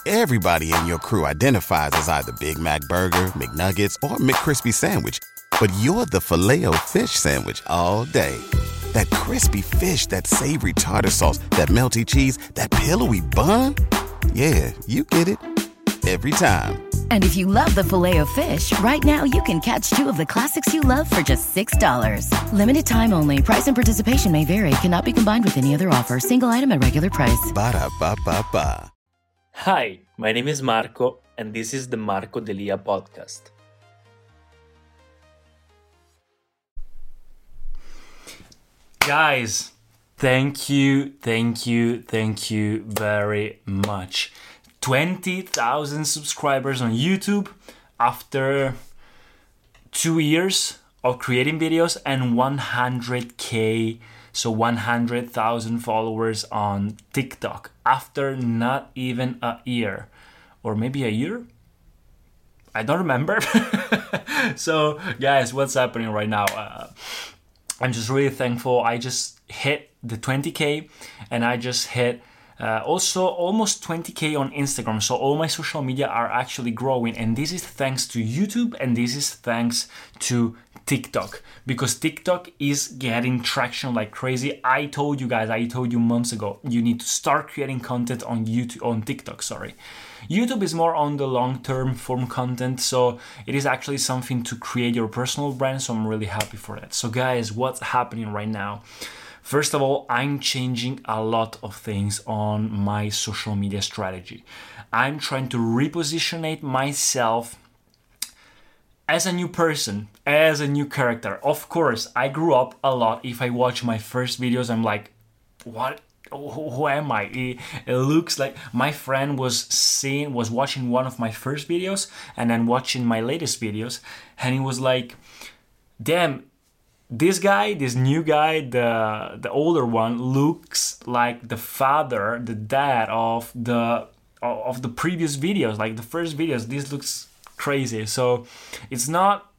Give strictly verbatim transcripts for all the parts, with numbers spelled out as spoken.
Everybody in your crew identifies as either Big Mac Burger, McNuggets, or McCrispy Sandwich. But you're the Filet-O-Fish Sandwich all day. That crispy fish, that savory tartar sauce, that melty cheese, that pillowy bun. Yeah, you get it. Every time. And if you love the Filet-O-Fish, right now you can catch two of the classics you love for just six dollars. Limited time only. Price and participation may vary. Cannot be combined with any other offer. Single item at regular price. Ba-da-ba-ba-ba. Hi, my name is Marco, and this is the Marco Delia podcast. Guys, thank you, thank you, thank you very much. twenty thousand subscribers on YouTube after two years of creating videos and one hundred K, so one hundred thousand followers on TikTok after not even a year, or maybe a year? I don't remember. So guys, what's happening right now? Uh, I'm just really thankful. I just hit the twenty K and I just hit Uh, also almost twenty K on Instagram, so all my social media are actually growing, and this is thanks to YouTube and this is thanks to TikTok, because TikTok is getting traction like crazy. I told you guys, I told you months ago, you need to start creating content on YouTube, on TikTok, sorry. YouTube is more on the long-term form content, so it is actually something to create your personal brand, so I'm really happy for that. So guys, what's happening right now? First of all, I'm changing a lot of things on my social media strategy. I'm trying to repositionate myself as a new person, as a new character. Of course, I grew up a lot. If I watch my first videos, I'm like, what? Who am I? It, it looks like my friend was seeing, was watching one of my first videos and then watching my latest videos, and he was like, damn, this guy, this new guy, the the older one, looks like the father, the dad of the of the previous videos, like the first videos. This looks crazy. So it's not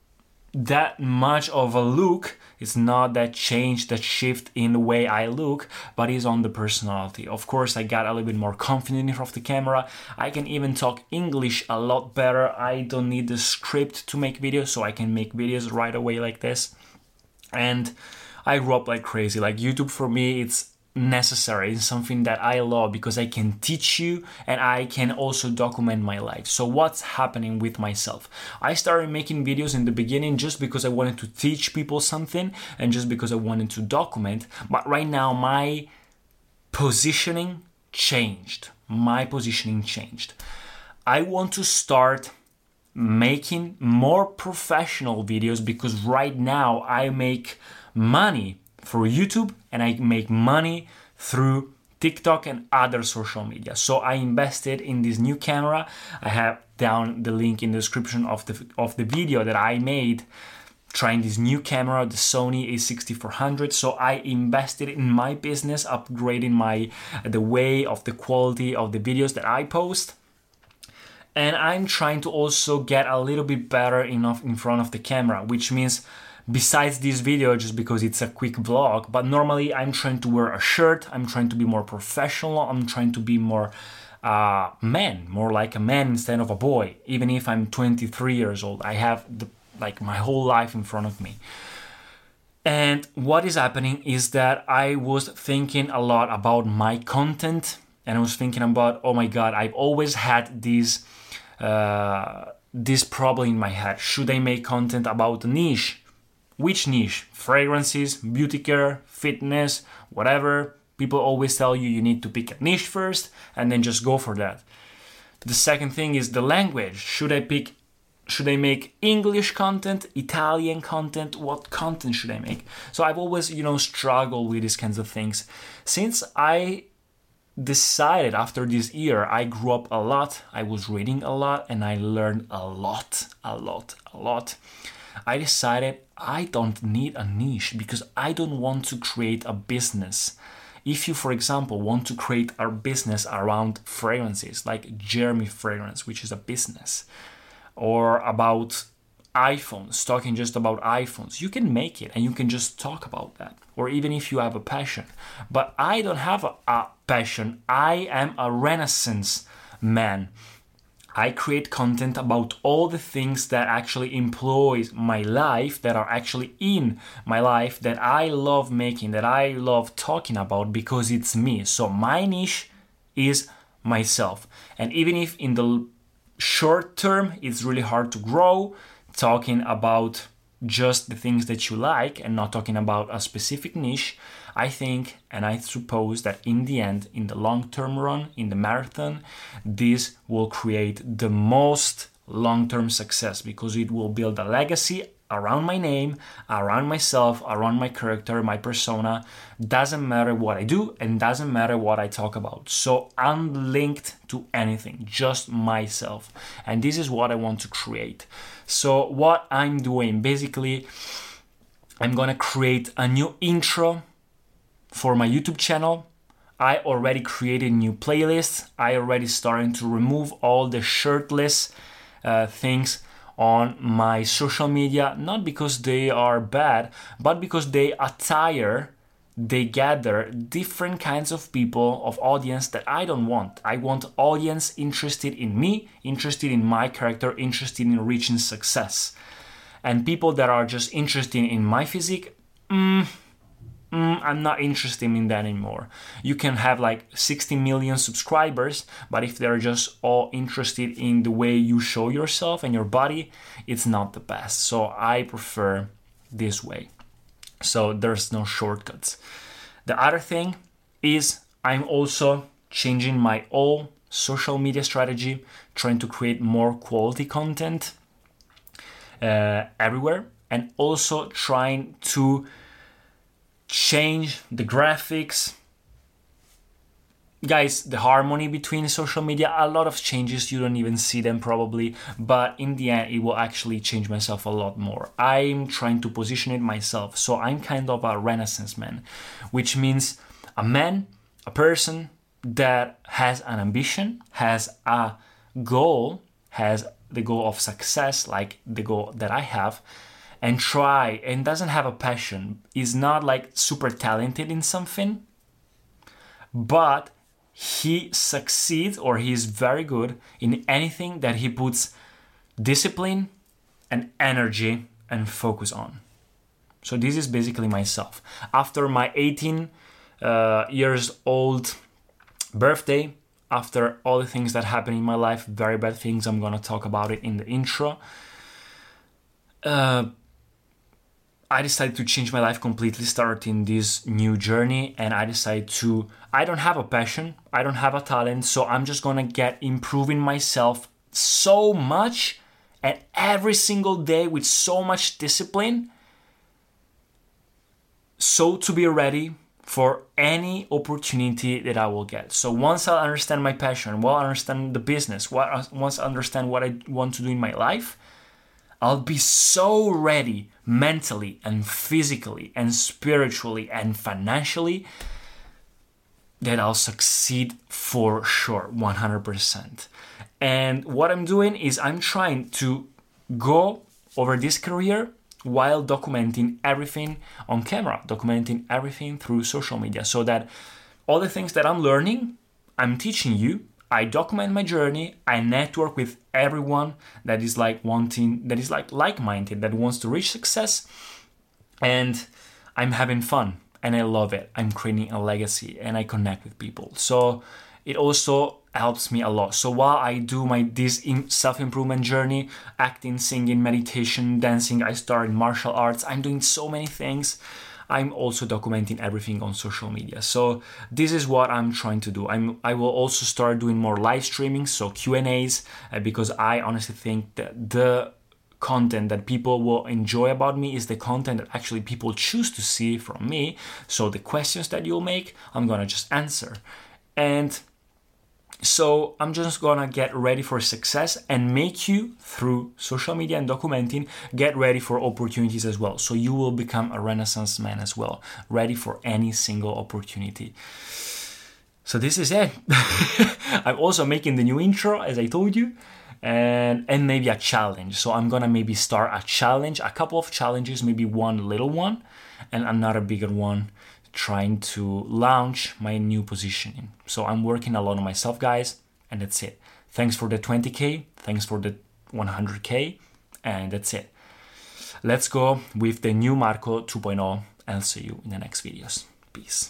that much of a look. It's not that change, that shift in the way I look, but it's on the personality. Of course, I got a little bit more confident in front of the camera. I can even talk English a lot better. I don't need the script to make videos, so I can make videos right away like this. And I grew up like crazy. Like YouTube for me, it's necessary. It's something that I love because I can teach you and I can also document my life. So what's happening with myself? I started making videos in the beginning just because I wanted to teach people something and just because I wanted to document. But right now my positioning changed. My positioning changed. I want to start making more professional videos because right now I make money through YouTube and I make money through TikTok and other social media. So I invested in this new camera. I have down the link in the description of the of the video that I made trying this new camera, the Sony A sixty-four hundred. So I invested in my business, upgrading my the way of the quality of the videos that I post. And I'm trying to also get a little bit better enough in front of the camera, which means besides this video, just because it's a quick vlog, but normally I'm trying to wear a shirt, I'm trying to be more professional, I'm trying to be more uh, man, more like a man instead of a boy. Even if I'm twenty-three years old, I have the, like my whole life in front of me. And what is happening is that I was thinking a lot about my content, and I was thinking about, oh my God, I've always had this Uh, this problem in my head. Should I make content about a niche? Which niche? Fragrances, beauty care, fitness, whatever. People always tell you you need to pick a niche first and then just go for that. The second thing is the language. Should I pick, should I make English content, Italian content? What content should I make? So I've always, you know, struggled with these kinds of things. Since I decided after this year, I grew up a lot, I was reading a lot, and I learned a lot, a lot, a lot. I decided I don't need a niche because I don't want to create a business. If you, for example, want to create a business around fragrances, like Jeremy Fragrance, which is a business, or about iPhones, talking just about iPhones, you can make it and you can just talk about that. Or even if you have a passion. But I don't have a, a passion. I am a renaissance man. I create content about all the things that actually employs my life, that are actually in my life, that I love making, that I love talking about because it's me. So my niche is myself. And even if in the short term it's really hard to grow, talking about just the things that you like and not talking about a specific niche, I think and I suppose that in the end, in the long-term run, in the marathon, this will create the most long-term success because it will build a legacy around my name, around myself, around my character, my persona. Doesn't matter what I do and doesn't matter what I talk about. So I'm linked to anything, just myself. And this is what I want to create. So what I'm doing, basically, I'm gonna create a new intro for my YouTube channel. I already created new playlists. I already started to remove all the shirtless uh, things on my social media, not because they are bad, but because they attire, they gather different kinds of people, of audience that I don't want. I want audience interested in me, interested in my character, interested in reaching success. And people that are just interested in my physique, mm, mm, I'm not interested in that anymore. You can have like sixty million subscribers, but if they're just all interested in the way you show yourself and your body, it's not the best. So I prefer this way. So there's no shortcuts. The other thing is I'm also changing my whole social media strategy, trying to create more quality content uh, everywhere, and also trying to change the graphics. Guys, the harmony between social media, a lot of changes, you don't even see them probably, but in the end it will actually change myself a lot more. I'm trying to position it myself, so I'm kind of a renaissance man, which means a man, a person that has an ambition, has a goal, has the goal of success, like the goal that I have, and try, and doesn't have a passion, is not like super talented in something, but he succeeds or he is very good in anything that he puts discipline and energy and focus on. So this is basically myself. After my eighteen uh, years old birthday, after all the things that happened in my life, very bad things, I'm gonna talk about it in the intro, uh, I decided to change my life completely, starting this new journey, and I decided to, I don't have a passion, I don't have a talent, so I'm just gonna get improving myself so much and every single day with so much discipline, so to be ready for any opportunity that I will get. So once I understand my passion, once I understand the business, once I understand what I want to do in my life, I'll be so ready mentally and physically and spiritually and financially that I'll succeed for sure, one hundred percent. And what I'm doing is I'm trying to go over this career while documenting everything on camera, documenting everything through social media, so that all the things that I'm learning, I'm teaching you. I document my journey, I network with everyone that is like wanting, that is like like-minded, that wants to reach success, and I'm having fun and I love it. I'm creating a legacy and I connect with people. So it also helps me a lot. So while I do my this self-improvement journey, acting, singing, meditation, dancing, I started martial arts, I'm doing so many things. I'm also documenting everything on social media. So this is what I'm trying to do. I'm, I will also start doing more live streaming, so Q and A's, uh, because I honestly think that the content that people will enjoy about me is the content that actually people choose to see from me. So the questions that you'll make, I'm gonna just answer. And so I'm just gonna get ready for success and make you, through social media and documenting, get ready for opportunities as well. So you will become a renaissance man as well, ready for any single opportunity. So this is it. I'm also making the new intro, as I told you, and and maybe a challenge. So I'm gonna maybe start a challenge, a couple of challenges, maybe one little one and another bigger one, trying to launch my new positioning. So I'm working a lot on myself, guys, And that's it. Thanks for the twenty K. Thanks for the one hundred K. And that's it. Let's go with the new Marco two point oh. I'll see you in the next videos. Peace.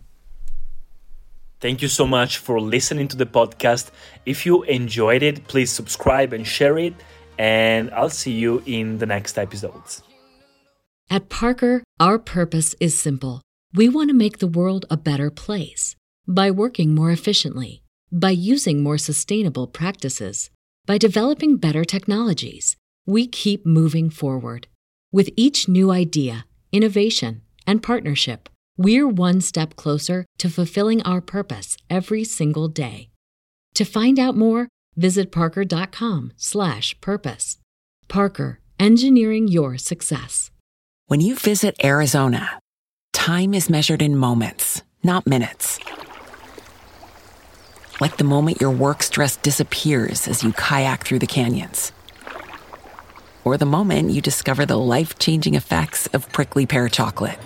Thank you so much for listening to the podcast. If you enjoyed it, please subscribe and share it. And I'll see you in the next episodes. At Parker, our purpose is simple. We want to make the world a better place by working more efficiently, by using more sustainable practices, by developing better technologies. We keep moving forward. With each new idea, innovation, and partnership, we're one step closer to fulfilling our purpose every single day. To find out more, visit parker.com slash purpose. Parker, engineering your success. When you visit Arizona, time is measured in moments, not minutes. Like the moment your work stress disappears as you kayak through the canyons. Or the moment you discover the life-changing effects of prickly pear chocolate.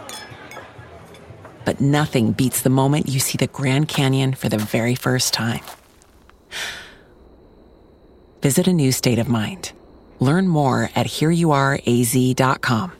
But nothing beats the moment you see the Grand Canyon for the very first time. Visit a new state of mind. Learn more at here you are a z dot com.